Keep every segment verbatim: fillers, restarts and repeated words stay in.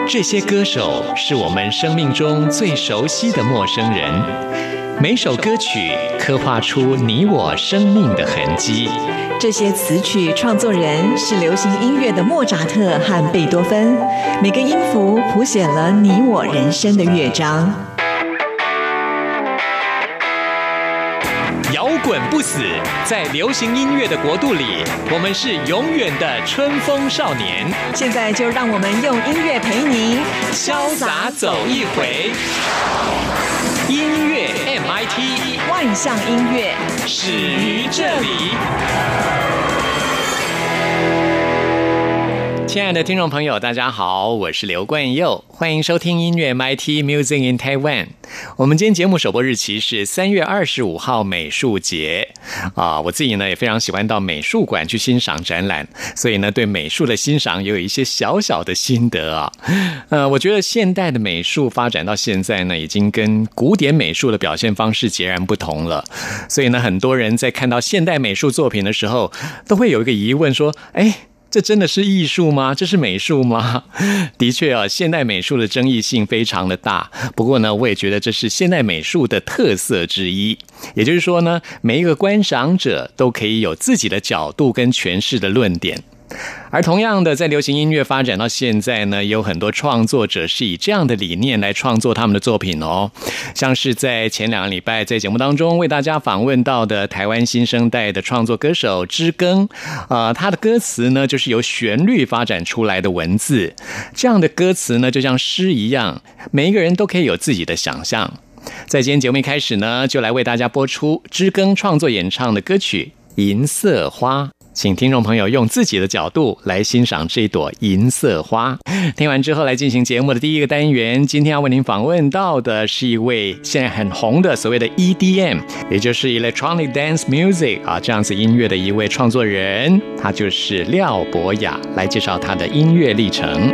这些歌手是我们生命中最熟悉的陌生人，每首歌曲刻画出你我生命的痕迹。 这些词曲创作人是流行音乐的莫扎特和贝多芬，每个音符谱写了你我人生的乐章。 摇滚不死，在流行音乐的国度里，我们是永远的春风少年。 现在就让我们用音乐陪你潇洒走一回。音乐 M I T， 万象音乐始于这里。亲爱的听众朋友，大家好，我是刘冠佑，欢迎收听音乐 M I T Music in Taiwan。我们今天节目首播日期是三月二十五号美术节啊，我自己呢也非常喜欢到美术馆去欣赏展览，所以呢对美术的欣赏也有一些小小的心得啊。呃，我觉得现代的美术发展到现在呢，已经跟古典美术的表现方式截然不同了，所以呢很多人在看到现代美术作品的时候，都会有一个疑问说，哎，这真的是艺术吗？这是美术吗？的确啊，现代美术的争议性非常的大。不过呢，我也觉得这是现代美术的特色之一。也就是说呢，每一个观赏者都可以有自己的角度跟诠释的论点。而同样的，在流行音乐发展到现在呢，有很多创作者是以这样的理念来创作他们的作品哦。像是在前两个礼拜在节目当中为大家访问到的台湾新生代的创作歌手知更，呃，他的歌词呢就是由旋律发展出来的文字，这样的歌词呢就像诗一样，每一个人都可以有自己的想象。在今天节目一开始呢，就来为大家播出知更创作演唱的歌曲《银色花》。请听众朋友用自己的角度来欣赏这朵银色花。听完之后来进行节目的第一个单元，今天要为您访问到的是一位现在很红的所谓的 E D M， 也就是 Electronic Dance Music 啊，这样子音乐的一位创作人，他就是廖博雅，来介绍他的音乐历程。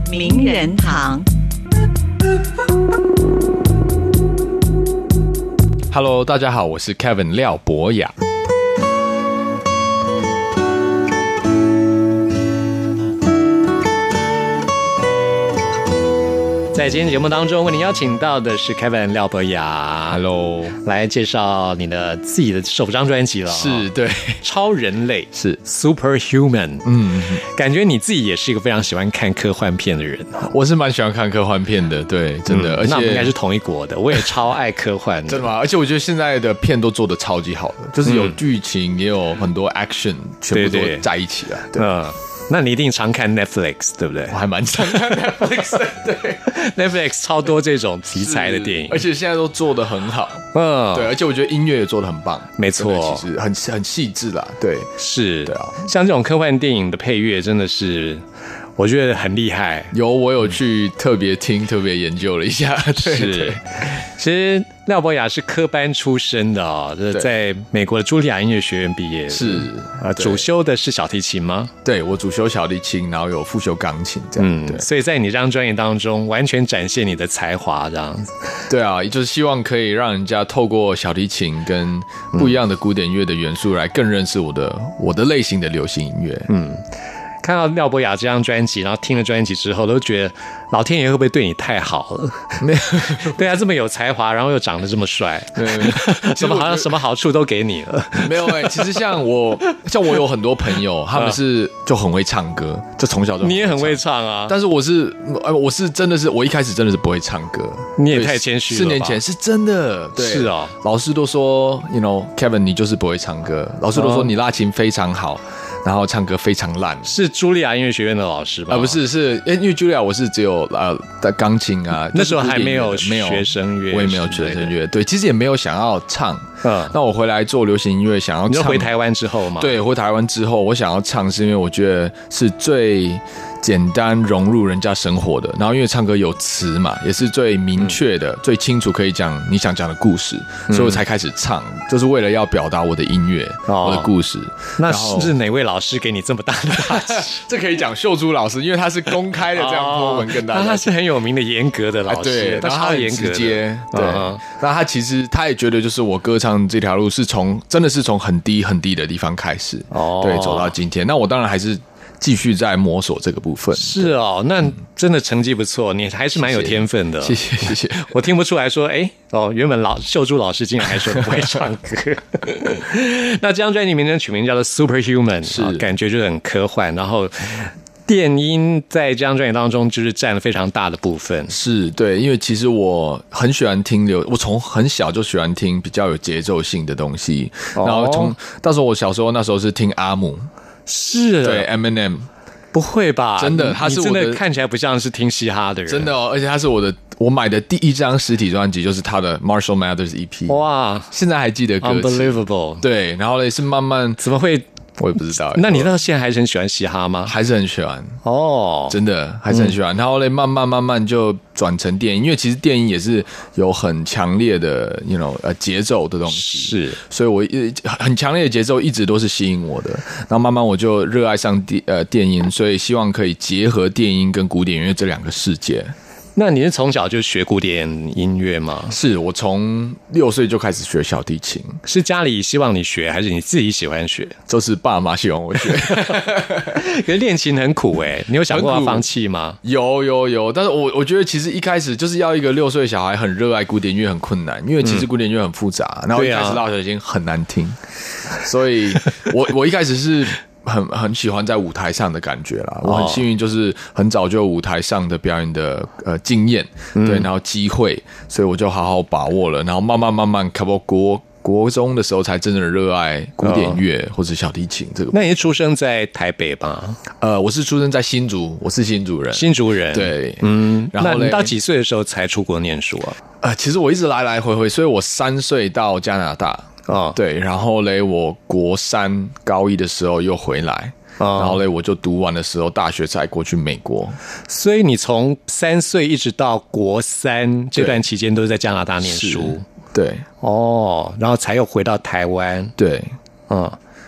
名人堂。 Hello， 大家好，我是 Kevin 廖博雅。 在今天节目当中，为您邀请到的是 Kevin 廖博雅 ，Hello， 来介绍你的自己的首张专辑了。 是，对， 超人类是 Superhuman。 嗯， 感觉你自己也是一个非常喜欢看科幻片的人。 我是蛮喜欢看科幻片的，对，真的，嗯、而且那我们应该是同一国的，我也超爱科幻的。 真的吗？而且我觉得现在的片都做得超级好的，就是有剧情，嗯、也有很多 action， 全部都在一起了。对。对嗯，那你一定常看 Netflix 对不对？ 我还蛮常看 Netflix 的，对 ，Netflix 超多这种题材的电影， 而且现在都做得很好，嗯，对，而且我觉得音乐也做得很棒， 没错， 其实很很细致啦，对， 是， 对啊， 像这种科幻电影的配乐真的是。我觉得很厉害， 有我有去特别听、特别研究了一下。对是， 对其实廖博雅是科班出身的哦，在美国的茱莉亚音乐学院毕业， 是啊，主修的是小提琴吗？ 对，我主修小提琴，然后有副修钢琴，这样。嗯，对， 所以在你这张专辑当中，完全展现你的才华，这样子。 对啊，就是希望可以让人家透过小提琴跟不一样的古典乐的元素，来更认识我的我的类型的流行音乐。嗯。 看到廖博雅这张专辑，然后听了专辑之后，都觉得老天爷会不会对你太好了？ 没有， 对啊，这么有才华，然后又长得这么帅，什么好像什么好处都给你了。 没有哎、欸，其实像我，像我有很多朋友，他们是就很会唱歌，就从小就你也很会唱啊。 但是我是，我是真的是，我一开始真的是不会唱歌。 你也太谦虚了吧。 四年前是真的，对， 是哦。 老师都说 ，you know Kevin， 你就是不会唱歌。老师都说你拉琴非常好。然后唱歌非常烂， 是茱莉亚音乐学院的老师吧？ 啊，不是，是因为茱莉亚我是只有呃钢琴啊， 那时候还没有没有学声乐， 我也没有学声乐，对，其实也没有想要唱。嗯，那我回来做流行音乐，想要唱， 你就回台湾之后嘛？ 对，回台湾之后，我想要唱，是因为我觉得是最简单融入人家生活的。然后因为唱歌有词嘛，也是最明确的、嗯、最清楚可以讲你想讲的故事，所以我才开始唱，就是为了要表达我的音乐、哦、我的故事。 那是哪位老师给你这么大的打击？ 这可以讲秀珠老师，因为他是公开的这样播文跟大家、哦， 他是很有名的严格的老师， 对， 他超严格的， 直接对。那他其实他也觉得，就是我歌唱这条路是从真的是从很低很低的地方开始，哦，对，走到今天。那我当然还是继续在摸索这个部分。 是哦，那真的成绩不错，你还是蛮有天分的。 谢谢谢谢。 我听不出来说，哎，哦，原本老秀珠老师竟然还说不会唱歌。那这张专辑名称取名叫做 Superhuman， 是、哦、感觉就很科幻，然后。电音在这张专辑当中就是占了非常大的部分， 是对，因为其实我很喜欢听流，我从很小就喜欢听比较有节奏性的东西，哦、然后从到时候我小时候那时候是听阿姆， 是对 Eminem， 不会吧？ 真的，他是我的， 真的看起来不像是听嘻哈的人， 真的哦，而且他是我的，我买的第一张实体专辑就是他的 Marshall Mathers E P， 哇，现在还记得歌词 ，Unbelievable， 对，然后呢是慢慢怎么会？ 我也不知道， 那你到现在还是很喜欢嘻哈吗？ 还是很喜欢哦， 真的还是很喜欢。嗯、然后嘞，慢慢慢慢就转成电影，因为其实电影也是有很强烈的 ，you know， 呃节奏的东西， 是， 所以我很强烈的节奏一直都是吸引我的。然后慢慢我就热爱上电呃电音，所以希望可以结合电音跟古典音乐这两个世界。 那你是从小就学古典音乐吗？ 是我从六岁就开始学小提琴。 是家里希望你学，还是你自己喜欢学？ 就是爸妈希望我学。 可是练琴很苦哎、欸，你有想过要放弃吗？ 有有有，但是我我觉得其实一开始就是要一个六岁小孩很热爱古典音乐很困难，因为其实古典音乐很复杂，嗯、然后一开始拉小提琴很难听，啊、所以我我一开始是。很很喜欢在舞台上的感觉啦，我很幸运，就是很早就有舞台上的表演的呃经验，嗯、对，然后机会，所以我就好好把握了，然后慢慢慢慢，差不多国国中的时候才真正的热爱古典乐或者小提琴这个。 那你是出生在台北吧？ 呃，我是出生在新竹，我是新竹人， 新竹人， 对， 嗯，然后那你到几岁的时候才出国念书啊？ 呃，其实我一直来来回回，所以我三岁到加拿大。哦，对，然后嘞，我国三高一的时候又回来，哦、然后嘞，我就读完的时候，大学才过去美国。 所以你从三岁一直到国三这段期间都是在加拿大念书， 对， 哦，然后才又回到台湾， 对， 嗯。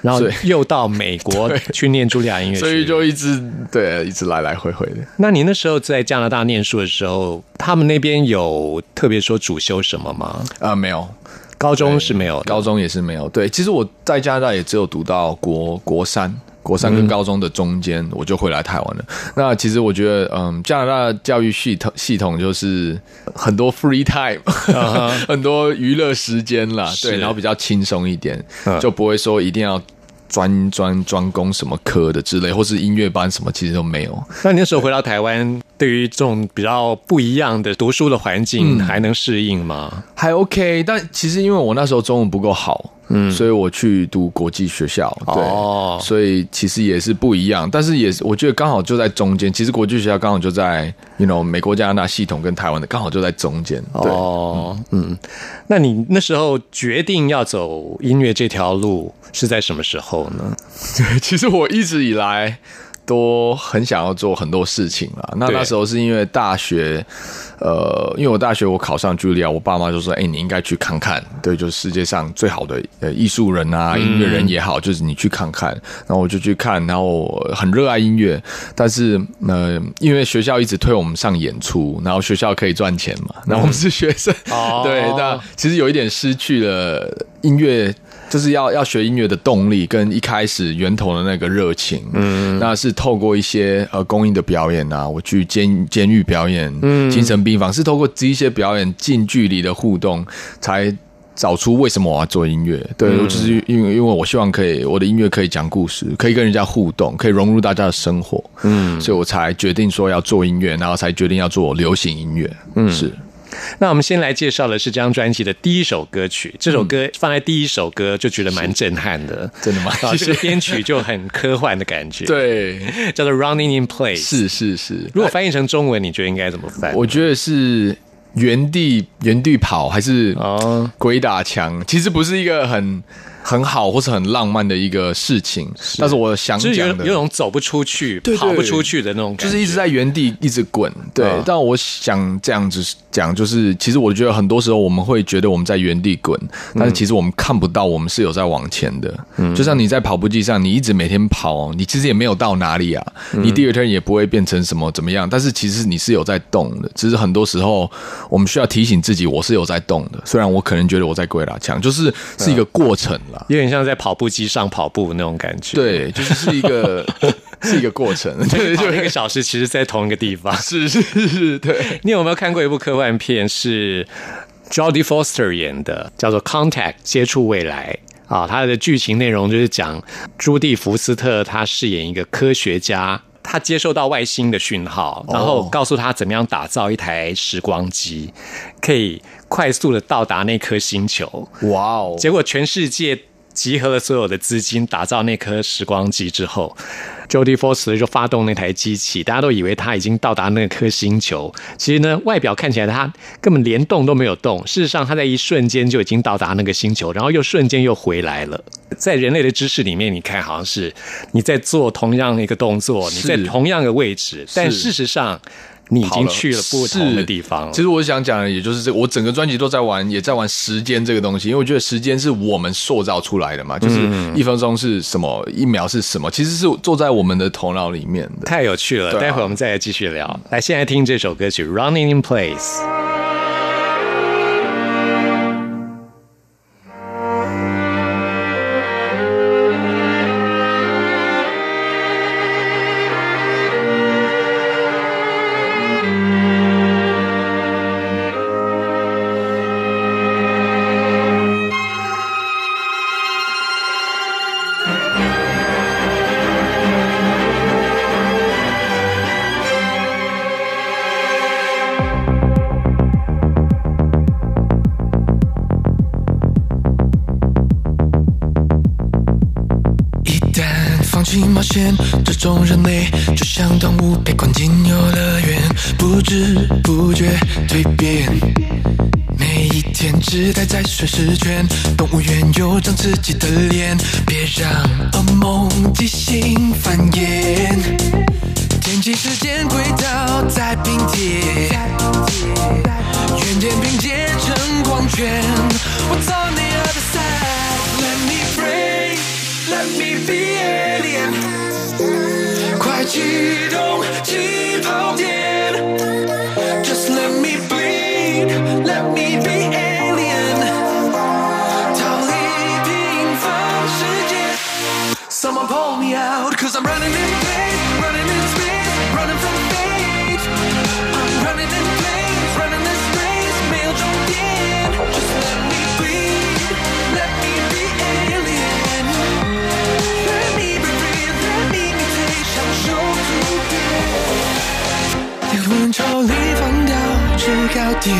然后又到美国去念茱莉亚音乐学院， 所以就一直对一直来来回回的。 那你那时候在加拿大念书的时候，他们那边有特别说主修什么吗？ 啊、呃，没有。 高中是没有的， 高中也是没有。对，其实我在加拿大也只有读到国国三。国三跟高中的中间，我就回来台湾了。嗯、那其实我觉得，嗯，加拿大的教育系统系统就是很多 free time，、uh-huh. 很多娱乐时间啦，对，然后比较轻松一点，嗯、就不会说一定要专专专攻什么科的之类，或是音乐班什么，其实都没有。 那你那时候回到台湾，对于这种比较不一样的读书的环境，还能适应吗？ 嗯、还 OK， 但其实因为我那时候中文不够好。嗯，所以我去读国际学校，对，哦、所以其实也是不一样，但是也是我觉得刚好就在中间。其实国际学校刚好就在 ，you know， 美国加拿大系统跟台湾的刚好就在中间。 哦，嗯，嗯，那你那时候决定要走音乐这条路是在什么时候呢？ 对，其实我一直以来都很想要做很多事情啦。那那时候是因为大学，呃，因为我大学我考上茱莉亚，我爸妈就说：“哎、欸，你应该去看看，对，就是世界上最好的呃艺术人啊，音乐人也好，就是你去看看。”然后我就去看，然后很热爱音乐，但是呃，因为学校一直推我们上演出，然后学校可以赚钱嘛，然后我们是学生，嗯、对，那其实有一点失去了音乐。就是要要学音乐的动力跟一开始源头的那个热情，嗯，那是透过一些呃公益的表演啊，我去监监狱表演，嗯，精神病房，是透过这些表演近距离的互动，才找出为什么我要做音乐。对，嗯、就是因为因为我希望可以我的音乐可以讲故事，可以跟人家互动，可以融入大家的生活，嗯，所以我才决定说要做音乐，然后才决定要做流行音乐，嗯，是。 那我们先来介绍的是这张专辑的第一首歌曲，这首歌放在第一首歌就觉得蛮震撼的， 真的吗？ 啊，这个编曲就很科幻的感觉， 对， 叫做 Running in Place， 是是是。 如果翻译成中文，你觉得应该怎么翻？ 我觉得是原地原地跑还是鬼打墙？哦、其实不是一个很。很好或是很浪漫的一个事情，是但是我想讲的就是有有种走不出去对对跑不出去的那种感觉， 就是一直在原地一直滚。对、嗯、但我想这样子讲，就是其实我觉得很多时候我们会觉得我们在原地滚，但是其实我们看不到我们是有在往前的、嗯、就像你在跑步机上，你一直每天跑，你其实也没有到哪里啊，你第二天也不会变成什么怎么样，但是其实你是有在动的，只是很多时候我们需要提醒自己我是有在动的，虽然我可能觉得我在鬼打墙，就是是一个过程、嗯有点像在跑步机上跑步那种感觉， 对，就是是一个是一个过程， 对，就一个小时，其实在同一个地方， 是是是，对。 你有没有看过一部科幻片，是 Jodie Foster 演的，叫做《Contact》接触未来啊？它的剧情内容就是讲朱蒂福斯特他饰演一个科学家。他接收到外星的讯号，然后告诉他怎么样打造一台时光机，可以快速的到达那颗星球。哇哦！结果全世界集合了所有的资金打造那颗时光机之后， Jodie Foster 就发动那台机器，大家都以为他已经到达那颗星球，其实呢外表看起来他根本连动都没有动，事实上他在一瞬间就已经到达那个星球，然后又瞬间又回来了。在人类的知识里面，你看好像是你在做同样一个动作，你在同样的位置，但事实上你已经去了不同的地方了。 其实我想讲的也就是这个，我整个专辑都在玩，也在玩时间这个东西，因为我觉得时间是我们塑造出来的嘛，就是一分钟是什么，一秒是什么，其实是坐在我们的头脑里面的。 太有趣了，啊、待会我们再来继续聊。来，现在听这首歌曲《Running in Place》。 冒险，这种人类就像动物被关进游乐园，不知不觉蜕变，每一天只待在顺时圈，动物园有张自己的脸，别让噩梦即兴繁衍，天气时间轨道在拼贴，原点拼接成光圈， What's on the other side? Let me pray, let me 启动起跑点 Just let me bleed Let me be alien 逃离平凡世界 Someone pull me out Cause I'm running in place Running in space Running from fate I'm running in place Running this race 没有终点 Just let me bleed Let me be alien Let me be free Let me meditate 享受突变灵魂抽离放掉制高点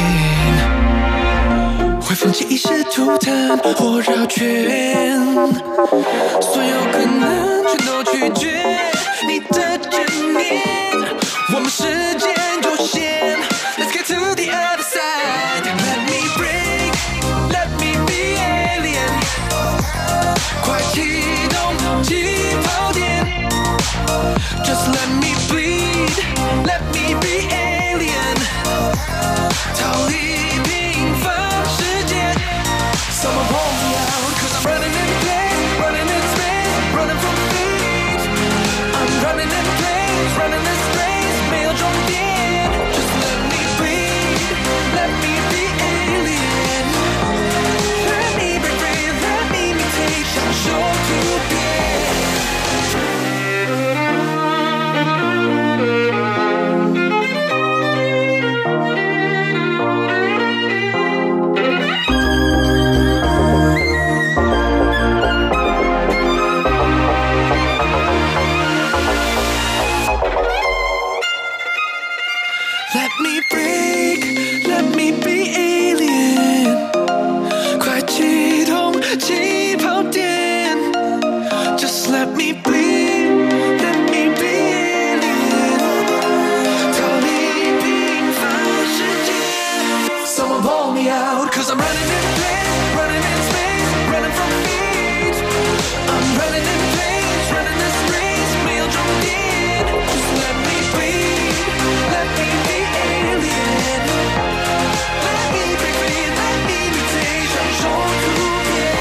会放弃一视图腾或绕圈所有可能全都拒绝你的执念我们时间有限 Let's get to the other side Let me break Let me be alien 快启动起跑点 Just let me bleed Let me be alien 逃离平凡世界 Someone pull me out Cause I'm running in place Running in space Running from fate I'm running in place Running this race 没有终点 Just let me bleed Let me be alien Let me be free Let me meditate 享受突变Let me break, let me be alien 快启动起跑点 Just let me bleed, let me be alien 逃离平凡世界 Someone pull me out Cause I'm running in place, running in space Running from fate I'm running in place, running this race 没有终点 Just let me bleed, let me be alien Let me be free, let me meditate 享受突变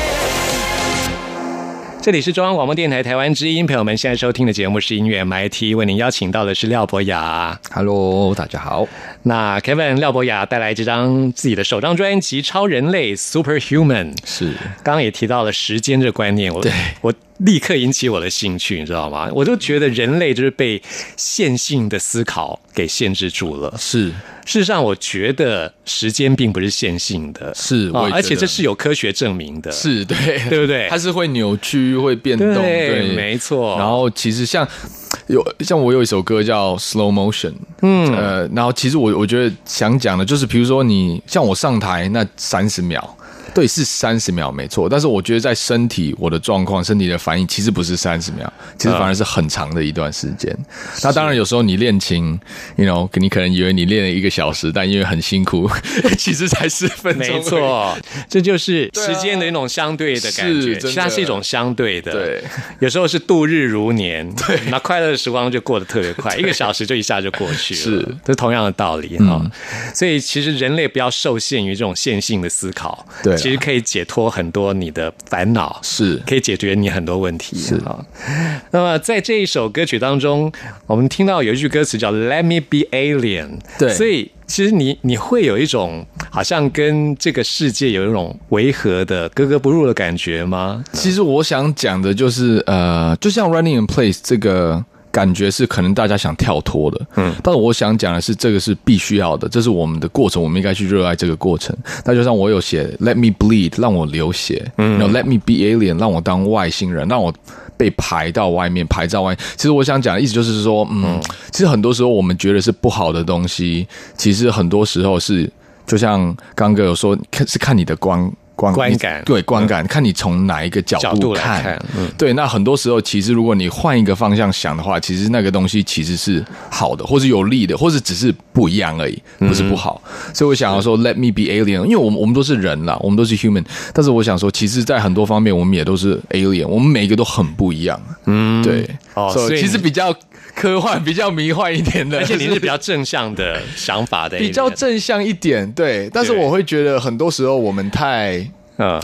这里是中央广播电台台湾之音，朋友们现在收听的节目是音乐 M I T， 为您邀请到的是廖博雅。 Hello， 大家好。 那 Kevin 廖博雅带来这张自己的首张专辑《超人类 Superhuman》， 是刚刚也提到了时间这个观念，我对我立刻引起我的兴趣，你知道吗？我就觉得人类就是被线性的思考给限制住了。 是， 事实上，我觉得时间并不是线性的， 是，我也觉得而且这是有科学证明的， 是对， 对不对？ 它是会扭曲、会变动， 对， 对， 没错。 然后其实像有像我有一首歌叫 Slow Motion， 嗯，呃，然后其实我我觉得想讲的就是，比如说你像我上台那三十秒。对，是三十秒没错，但是我觉得在身体我的状况、身体的反应，其实不是三十秒，其实反而是很长的一段时间。嗯、那当然，有时候你练琴 ，you know， 你可能以为你练了一个小时，但因为很辛苦，其实才十分钟。 没错，这就是时间的一种相对的感觉，其实它是一种相对的。 对， 有时候是度日如年，对，那快乐的时光就过得特别快，一个小时就一下就过去了。是，这是同样的道理哈、嗯。所以其实人类不要受限于这种线性的思考。对。其实可以解脱很多你的烦恼，是可以解决你很多问题。是啊，那么在这一首歌曲当中，我们听到有一句歌词叫 "Let me be alien"， 对，所以其实你你会有一种好像跟这个世界有一种违和的格格不入的感觉吗？ 其实我想讲的就是呃，就像 "Running in Place" 这个。感觉是可能大家想跳脱的，嗯，但是我想讲的是，这个是必须要的，这是我们的过程，我们应该去热爱这个过程。那就像我有写 "Let me bleed"， 让我流血，嗯，然后 "Let me be alien"， 让我当外星人，让我被排到外面，排到外面。其实我想讲的意思就是说，嗯，嗯其实很多时候我们觉得是不好的东西，其实很多时候是，就像刚哥有说，是看你的光。观, 观感对观感、嗯，看你从哪一个角度 看, 角度来看、嗯，对。那很多时候，其实如果你换一个方向想的话，其实那个东西其实是好的，或是有利的，或是只是不一样而已，不是不好。嗯、所以我想要说 ，Let me be alien， 因为我们我们都是人啦，我们都是 human， 但是我想说，其实，在很多方面，我们也都是 alien， 我们每一个都很不一样。嗯，对。哦，所以其实比较科幻、比较迷幻一点的， 而且你是比较正向的想法的， 比较正向一点，对。但是我会觉得很多时候我们太。嗯，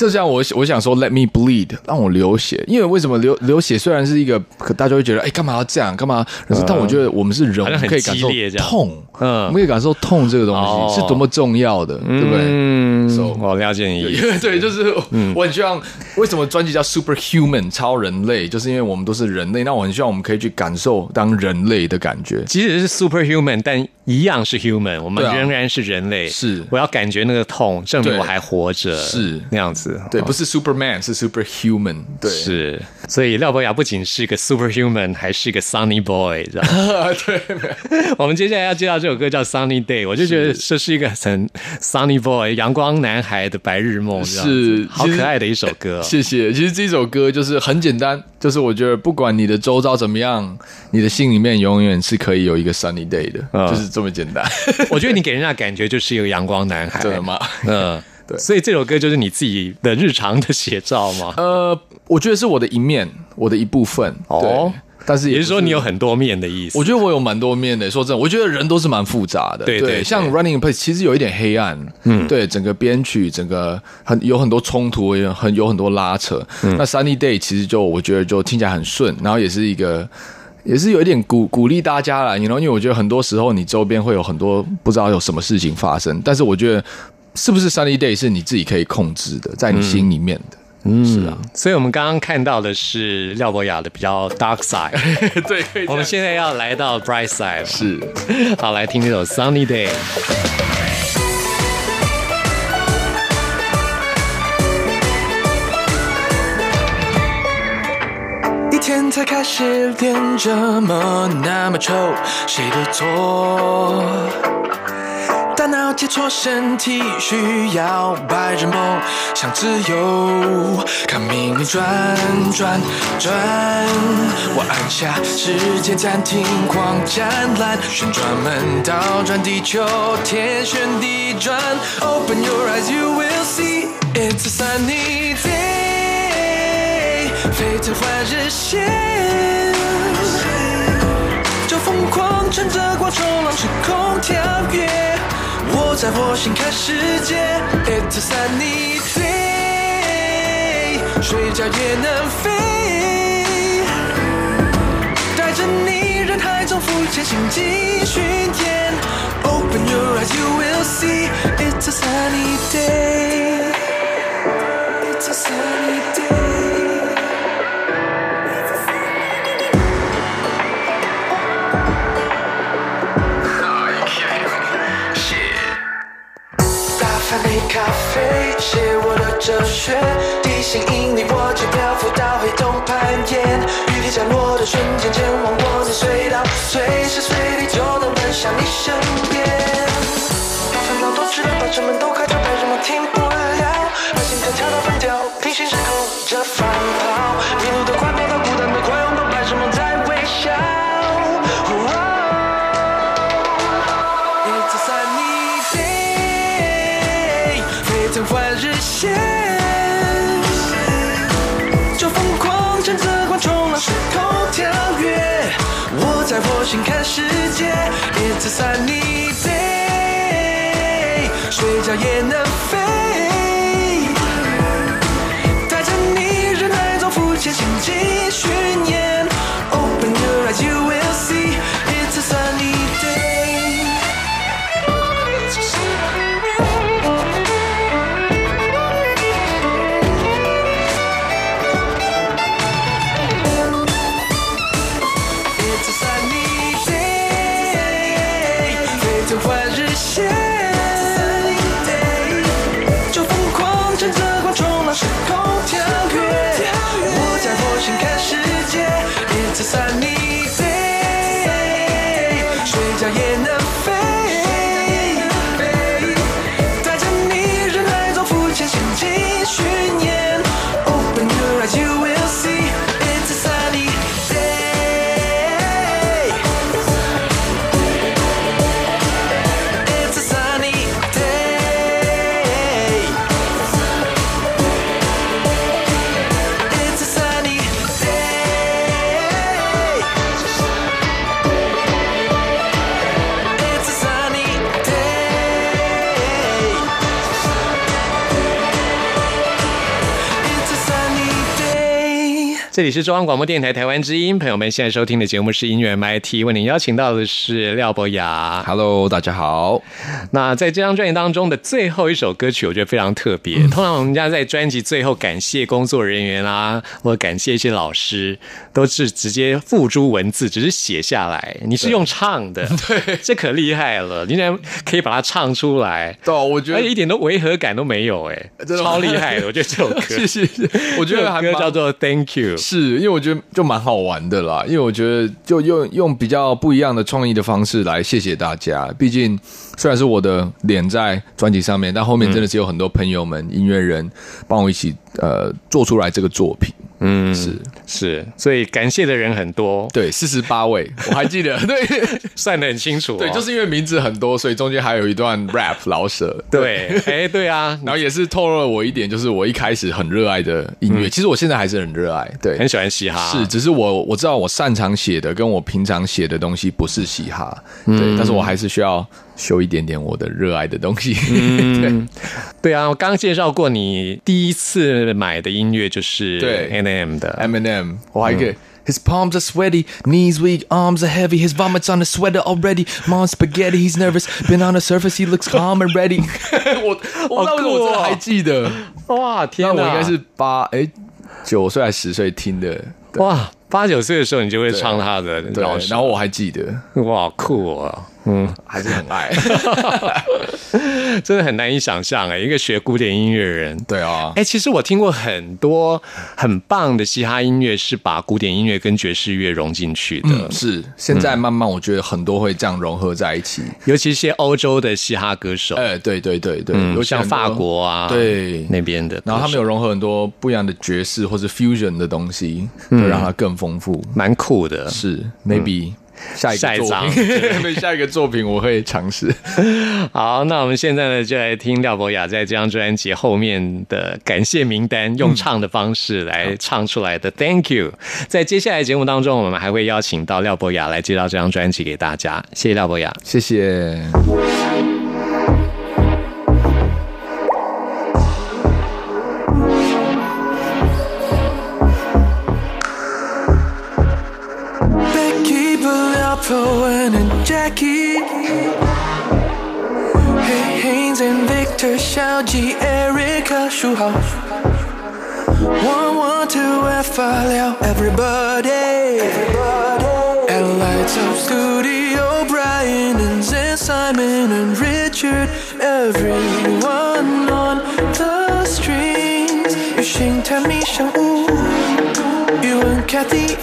就像我我想说 ，Let me bleed， 让我流血。因为为什么流流血虽然是一个，大家会觉得，哎，干嘛要这样？干嘛？可是，但我觉得我们是人，我们可以感受痛，嗯，我们可以感受痛这个东西、哦、是多么重要的，对不对？ 嗯， so, 我了解你意思。 对，就是我很希望，为什么专辑叫 Superhuman 超人类，就是因为我们都是人类。那我很希望我们可以去感受当人类的感觉， 即使是 Superhuman， 但一样是 human， 我们仍然是人类。是、啊，我要感觉那个痛，证明我还活着，是那样子。 对，不是 Superman， 是 Superhuman。对， 是。所以廖博雅不仅是个 Superhuman， 还是个 Sunny Boy， 知道吗？ 对。 我们接下来要介绍这首歌叫 Sunny Day， 我就觉得这是一个很 Sunny Boy 阳光男孩的白日梦，是好可爱的一首歌。 谢谢。其实这首歌就是很简单，就是我觉得不管你的周遭怎么样，你的心里面永远是可以有一个 Sunny Day 的，嗯、就是这么简单。 我觉得你给人家感觉就是一个阳光男孩， 真的吗？ 嗯。对，所以这首歌就是你自己的日常的写照吗？ 呃，我觉得是我的一面，我的一部分。哦，但是 也, 也是说你有很多面的意思。 我觉得我有蛮多面的。说真的，我觉得人都是蛮复杂的。对 对, 对，像 Running in Place 其实有一点黑暗。嗯，对，整个编曲，整个很有很多冲突，有很有很多拉扯。嗯、那 Sunny Day 其实就我觉得就听起来很顺，然后也是一个。也是有一点鼓鼓励大家啦， you know, 因为我觉得很多时候你周边会有很多不知道有什么事情发生，但是我觉得是不是 Sunny Day 是你自己可以控制的，在你心里面的。嗯，是啊。 所以我们刚刚看到的是廖博雅的比较 dark side， 对， 我们现在要来到 bright side， 是。 好，来听这首 Sunny Day。 天才开始练这么那么丑，谁的错？大脑切磋身体需要白日梦，想自由，看命运转转转。我按下时间暂停，狂展览，旋转门倒转地球，天旋地转。Open your eyes, you will see it's a sunny day。飞腾换日线，就疯狂乘着光冲浪时空跳跃。我在火星看世界 ，It's a sunny day， 睡觉也能飞，带着你人海中浮潜行进巡演。Open your eyes, you will see it's a sunny day, it's a sunny day。杯咖啡，写我的哲学，地心引力，我就漂浮到黑洞攀岩。雨滴降落的瞬间，前往我的隧道，随时随地就能奔向你身边。烦恼都知道，把车门都开着，拍什么停不了，把心跳跳到分掉，平行时空着反跑，迷路的快跑到孤单的快拥抱，拍什么在微笑。It's a sunny day。换日线，就疯狂乘着光冲浪时空跳跃。我在火星看世界 ，It's a sunny day， 睡觉也能飞，带着你人海中浮潜行进巡演。Open your eyes, you will see it's a sunny day。换日线， 这里是中央广播电台台湾之音，朋友们现在收听的节目是音乐 M I T， 为您邀请到的是廖博雅。 Hello， 大家好。 那在这张专辑当中的最后一首歌曲我觉得非常特别、嗯、通常我们家在专辑最后感谢工作人员啊，或者感谢一些老师，都是直接付诸文字，只是写下来，你是用唱的， 对， 这可厉害了，你竟然可以把它唱出来。 对，我觉得而且一点都违和感都没有，哎，超厉害的。我觉得这首歌谢谢，我觉得还歌叫做 Thank You， 是因为我觉得就蛮好玩的啦，因为我觉得就用用比较不一样的创意的方式来谢谢大家。毕竟虽然是我的脸在专辑上面，但后面真的是有很多朋友们、嗯、音乐人帮我一起呃做出来这个作品。嗯，是是，所以感谢的人很多， 对，四十八位，我还记得，对， 算得很清楚、哦。 对，就是因为名字很多，所以中间还有一段 rap 老舍。 对，哎、欸，对啊， 然后也是透露了我一点，就是我一开始很热爱的音乐、嗯，其实我现在还是很热爱，对， 很喜欢嘻哈， 是，只是我我知道我擅长写的跟我平常写的东西不是嘻哈，对，嗯、但是我还是需要修一点点我的热爱的东西。嗯、对， 对啊，我刚刚介绍过，你第一次买的音乐就是对 Eminem 的 Eminem， 我还可以。嗯His palms are sweaty, knees weak, arms are heavy. His vomits on his sweater already. Mom's spaghetti, he's nervous. Been on the surface, he looks calm and ready. 我我那我真的还记得， 哇天哪！ 那我应该是八哎九岁还十岁听的， 哇，八九岁的时候你就会唱他的老师， 然后我还记得， 哇酷啊！嗯， 还是很爱， 真的很难以想象哎，一个学古典音乐人， 对啊， 哎，其实我听过很多很棒的嘻哈音乐，是把古典音乐跟爵士乐融进去的。 嗯、是，现在慢慢我觉得很多会这样融合在一起，嗯、 尤其一些欧洲的嘻哈歌手， 哎，对对对对， 嗯、像法国啊， 对那边的， 然后他们有融合很多不一样的爵士或是 fusion 的东西，就让它更丰富， 蛮酷的。 是 ，maybe、嗯。下一个作品，对，下一个作品我会尝试。 好，那我们现在呢，就来听廖博雅在这张专辑后面的感谢名单，用唱的方式来唱出来的 Thank You。在接下来节目当中，我们还会邀请到廖博雅来介绍这张专辑给大家。谢谢廖博雅， 谢谢。 Cohen and Jackie, Hey Haynes and Victor, Xiao Ji, Erica, Shu Hao, one one two F Liao, everybody, and lights up studio, Brian and Zen, Simon and Richard, everyone on the strings. Yu Xing, Tammy, Shang Wu, you and Kathy,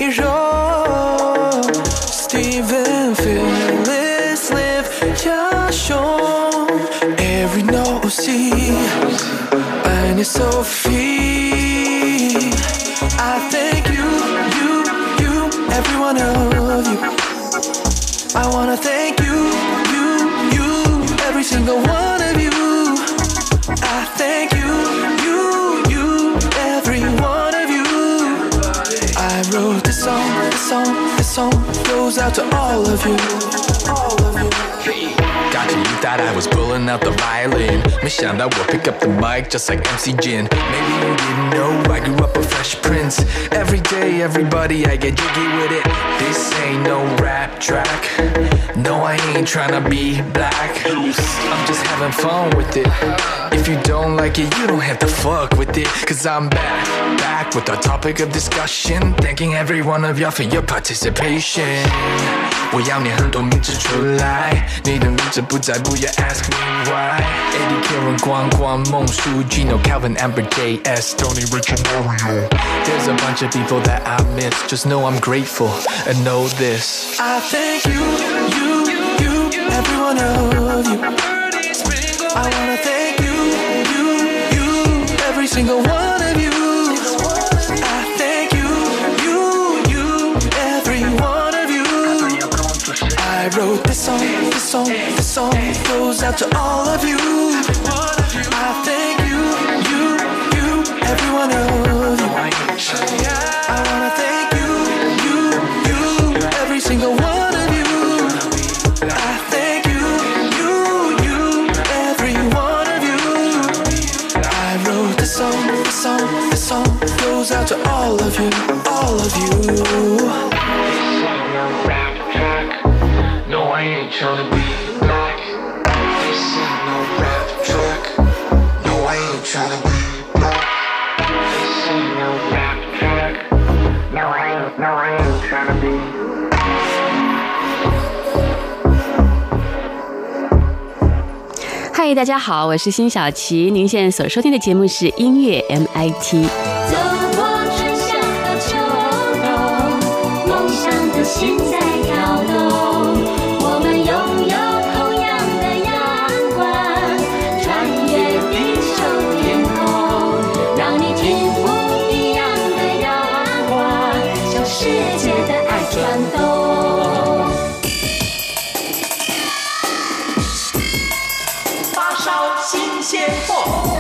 Steven, Phyllis, Liv, Jiashong, every no C, and Sophie. I thank you, you, you, every one of you. I wanna thank you, you, you, every single one of you. I thank you, you, you, every one of you. I wrote this song, this song, this song goes out to all of you, all of you. Gotcha, you thought I was pulling out the violin. 没想到我 pick up the mic just like M C Jin. Maybe you didn't know I grew up a Fresh Prince. Every day, everybody, I get jiggy with it. This ain't no rap track. No, I ain't tryna be black. I'm just having fun with it. If you don't like it, you don't have to fuck with it. Cause I'm back, back with the topic of discussion. Thanking every one of y'all for your participation. 我要念很多名字出来，你的名字不在，不要 ask me why. Eddie, Karen, Guang, Guang, Meng, Su, Gino, Calvin, Amber, J S, Tony, Richard, Mario. There's a bunch of people that I miss. Just know I'm grateful and know this. I thank you, you, you, every one of you. I wanna thank you, you, you, every single one of you. I thank you, you, you, every one of you. I wrote this song, this song, this song goes out to all of you. I thank you, you, you, every one of you. I wanna thank you, you, you, every single one of you. I thank you, you, you, every one of you. I wrote this song, this song, this song goes out to all of you. all of you. This ain't no rap track. No, I ain't tryna be black. This ain't no rap track. No, I ain't tryna be black. This ain't no rap track. No, I ain't, no, I ain't tryna be. 嗨，大家好，我是辛晓琪。您现在所收听的节目是音乐 M I T。 走过春夏和秋冬，梦想的心在跳动。我们拥有同样的阳光，穿越地球天空，让你听不一样的阳光，向世界的爱转动。 新鲜货。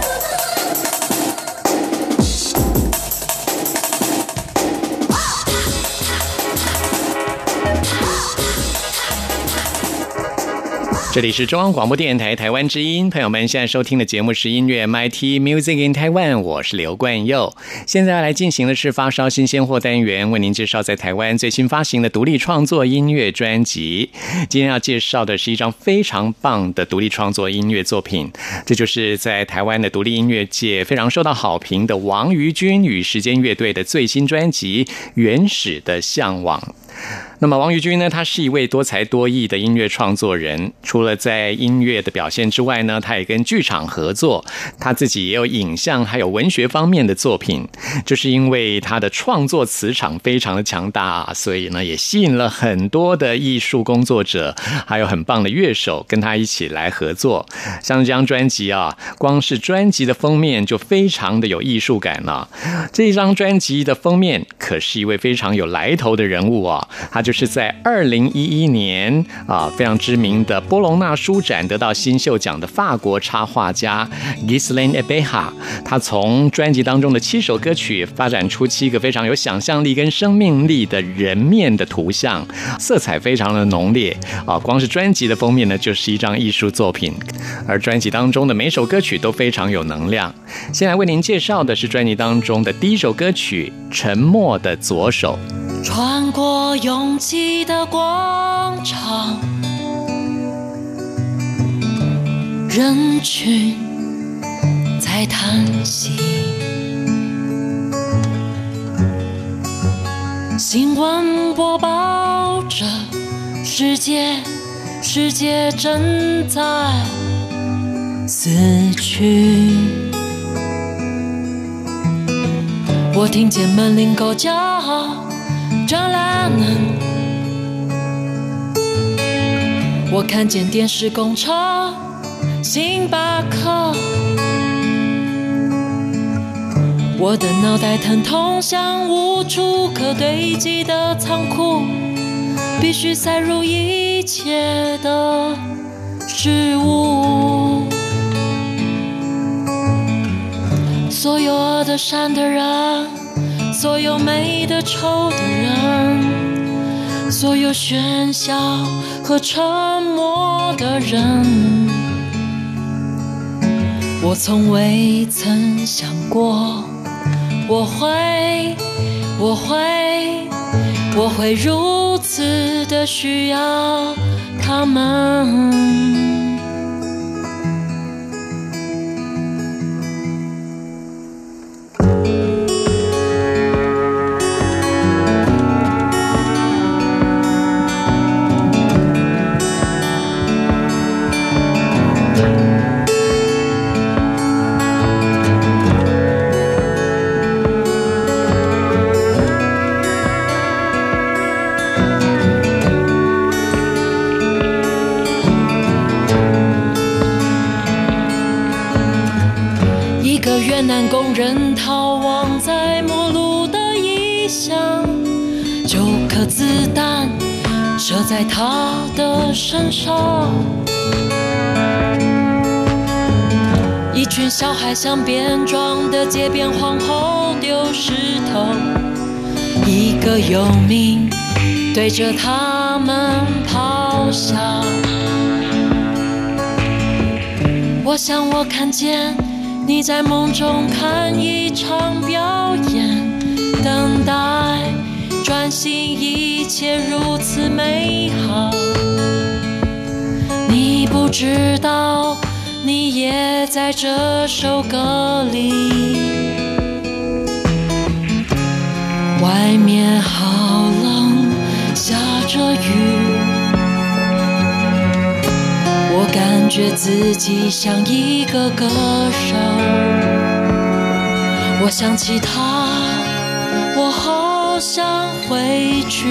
这里是中央广播电台台湾之音，朋友们现在收听的节目是音乐 M I T Music in Taiwan， 我是刘冠佑。现在要来进行的是发烧新鲜货单元，为您介绍在台湾最新发行的独立创作音乐专辑。今天要介绍的是一张非常棒的独立创作音乐作品，这就是在台湾的独立音乐界非常受到好评的王于君与时间乐队的最新专辑《原始的向往》。那么王于君呢，他是一位多才多艺的音乐创作人，除了在音乐的表现之外呢，他也跟剧场合作，他自己也有影像还有文学方面的作品。就是因为他的创作磁场非常的强大，所以呢也吸引了很多的艺术工作者还有很棒的乐手跟他一起来合作。像这张专辑啊，光是专辑的封面就非常的有艺术感了。这一张专辑的封面可是一位非常有来头的人物啊，他就是在二零一一年啊非常知名的波隆纳书展得到新秀奖的法国插画家 Ghislaine Ebeha。 他从专辑当中的七首歌曲发展出七个非常有想象力跟生命力的人面的图像，色彩非常的浓烈啊！光是专辑的封面呢，就是一张艺术作品，而专辑当中的每首歌曲都非常有能量。先来为您介绍的是专辑当中的第一首歌曲《沉默的左手》。 穿过拥挤的广场，人群在叹息，新闻播报着世界，世界正在死去。我听见门铃狗叫张兰，我看见电视公车星巴克，我的脑袋疼痛像无处可堆积的仓库，必须塞入一切的事物。所有恶的善的人，所有美的丑的人，所有喧嚣和沉默的人，我从未曾想过我会我会我会如此的需要他们。越南工人逃亡在末路的异乡，九颗子弹射在他的身上，一群小孩向边庄的街边皇后丢石头，一个游民对着他们咆哮。我想我看见你在梦中看一场表演，等待专心，一切如此美好。你不知道，你也在这首歌里。外面好冷，下着雨，我感觉自己像一个歌手。我想起他，我好想回去。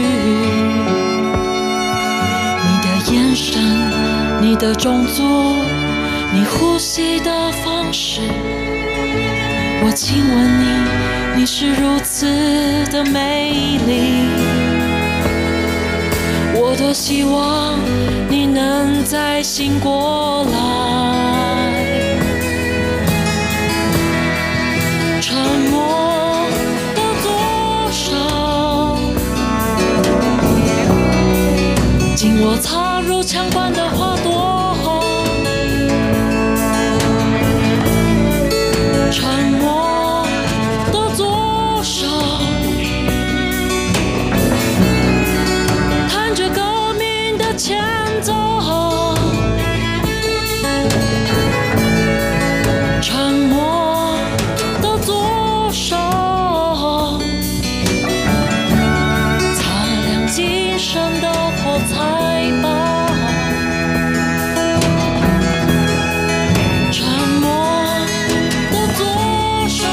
你的眼神，你的种族，你呼吸的方式，我亲吻你，你是如此的美丽。我多希望你能再醒过来。沉默的左手，紧握插入枪管的花朵。沉默的左手，弹着革命的前奏。沉默的左手，擦亮今生的火柴吧。沉默的左手，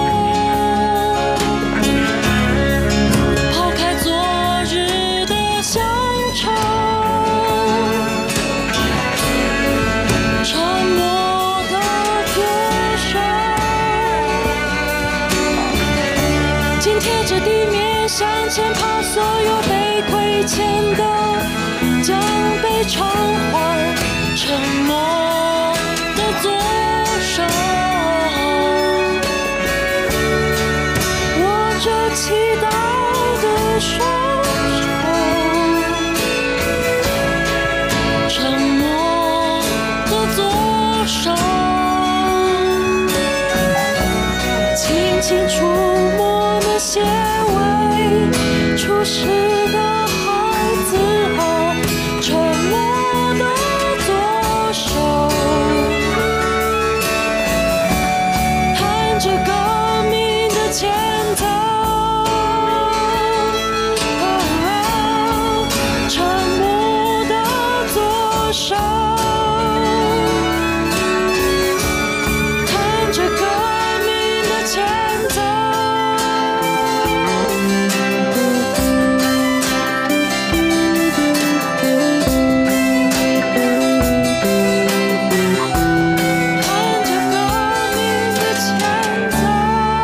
抛开昨日的乡愁。沉默的左手，紧贴着地面向前爬，所有被亏欠的将被偿还。沉默的左手，握着期待的双手。沉默的左手，轻轻触摸那些未出世的孩子啊。沉默的左手，弹着革命的前奏。沉默的左手，弹着革命的前奏。弹着革命的前奏。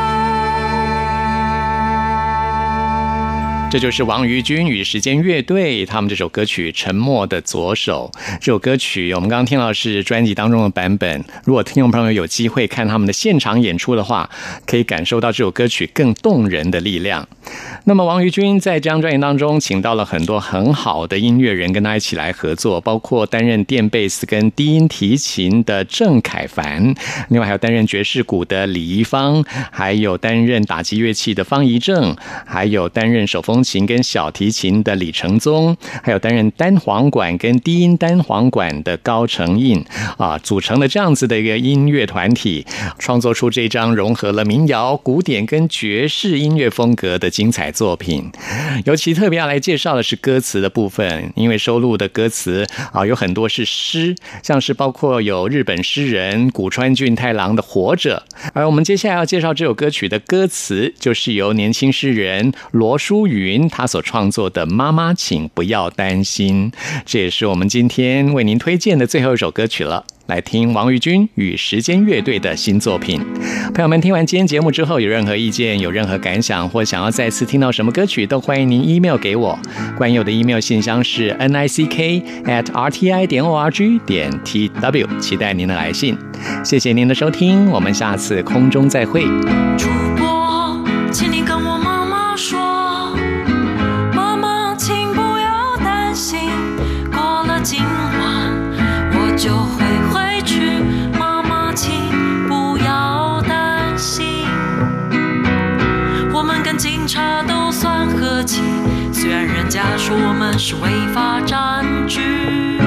这就是王于君与时间乐队他们这首歌曲《沉默的左手》。这首歌曲我们刚刚听到的是专辑当中的版本，如果听众朋友有机会看他们的现场演出的话，可以感受到这首歌曲更动人的力量。那么王于君在这张专辑当中请到了很多很好的音乐人跟他一起来合作，包括担任电贝斯跟低音提琴的郑凯凡，另外还有担任爵士鼓的李怡芳，还有担任打击乐器的方怡正，还有担任手风琴跟小提琴的李承宗，还有担任单簧管跟低音单簧管的高成印啊，组成了这样子的一个音乐团体，创作出这张融合了民谣、古典跟爵士音乐风格的精彩作品。尤其特别要来介绍的是歌词的部分，因为收录的歌词啊有很多是诗，像是包括有日本诗人古川俊太郎的《活着》，而我们接下来要介绍这首歌曲的歌词，就是由年轻诗人罗淑云他所创作的《妈妈请不要担心》，这也是我们今天为您推荐的最后一首歌曲了。来听王于君与时间乐队的新作品。朋友们，听完今天节目之后，有任何意见、有任何感想，或想要再次听到什么歌曲，都欢迎您 email 给我。关于我的 email 信箱是 n i c k at r t i 点 o r g 点 t w， 期待您的来信。谢谢您的收听，我们下次空中再会。 主播，请你跟我妈妈说，妈妈，请不要担心，过了今晚我就会回去。妈妈，请不要担心，我们跟警察都算和客气，虽然人家说我们是违法占据。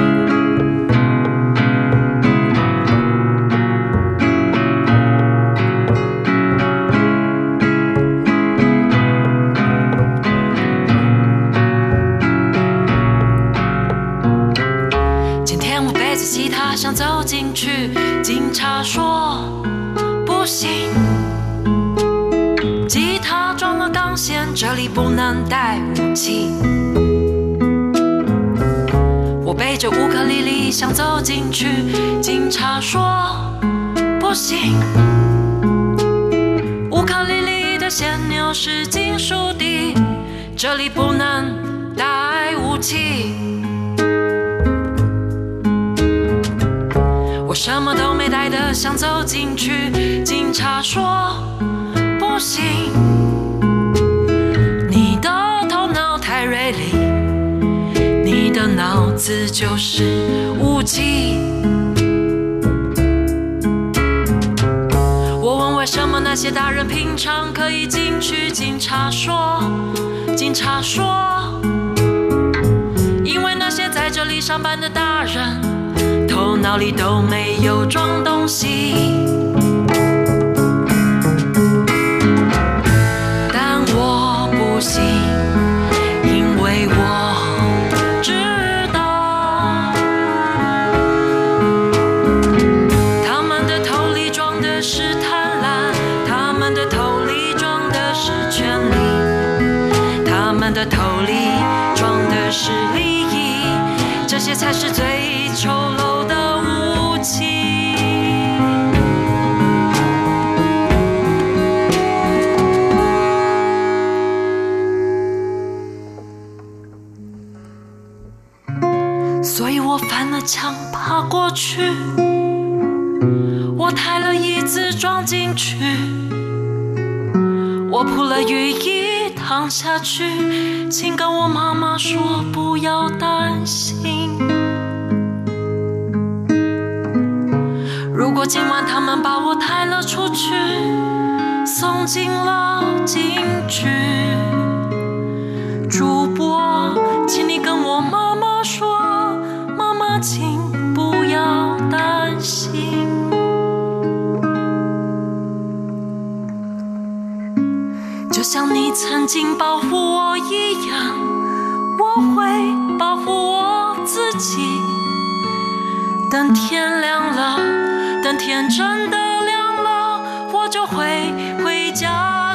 今天我背着吉他想走进去，警察说不行，吉他装了钢线，这里不能带武器。我背着乌克丽丽想走进去，警察说不行，乌克丽丽的旋钮是金属的，这里不能带武器。我什么都没带的想走进去，警察说不行，你的头脑太锐利，你的脑子就是武器。我问为什么那些大人平常可以进去，警察说警察说因为那些在这里上班的大人头脑里都没有装东西。但我不信，因为我知道他们的头里装的是贪婪，他们的头里装的是权力，他们的头里装的是利益，这些才是最丑陋的武器。所以我翻了墙爬过去，我抬了椅子装进去，我铺了雨衣躺下去，请跟我妈妈说不要担心。如果今晚他们把我抬了出去，送进了警局，主播，请你跟我妈妈说，妈妈请不要担心。就像你曾经保护我一样，我会保护我自己。等天亮了，等天真的亮了，我就会回家。